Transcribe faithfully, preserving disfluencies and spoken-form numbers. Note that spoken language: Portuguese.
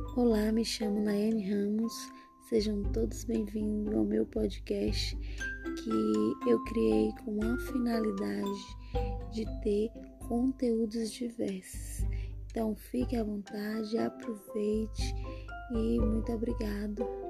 Olá, me chamo Nayane Ramos, sejam todos bem-vindos ao meu podcast que eu criei com a finalidade de ter conteúdos diversos. Então fique à vontade, aproveite e muito obrigado.